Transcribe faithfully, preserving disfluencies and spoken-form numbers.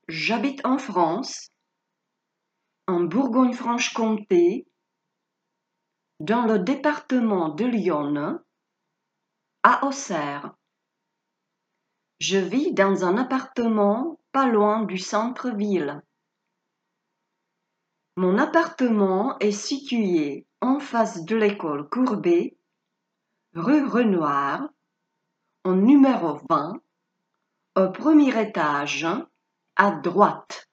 J'habite en France, en Bourgogne-Franche-Comté, dans le département de l'Yonne, à Auxerre. Je vis dans un appartement pas loin du centre-ville. Mon appartement est situé en face de l'école Courbet, rue Renoir, au numéro vingt, au premier étage, à droite.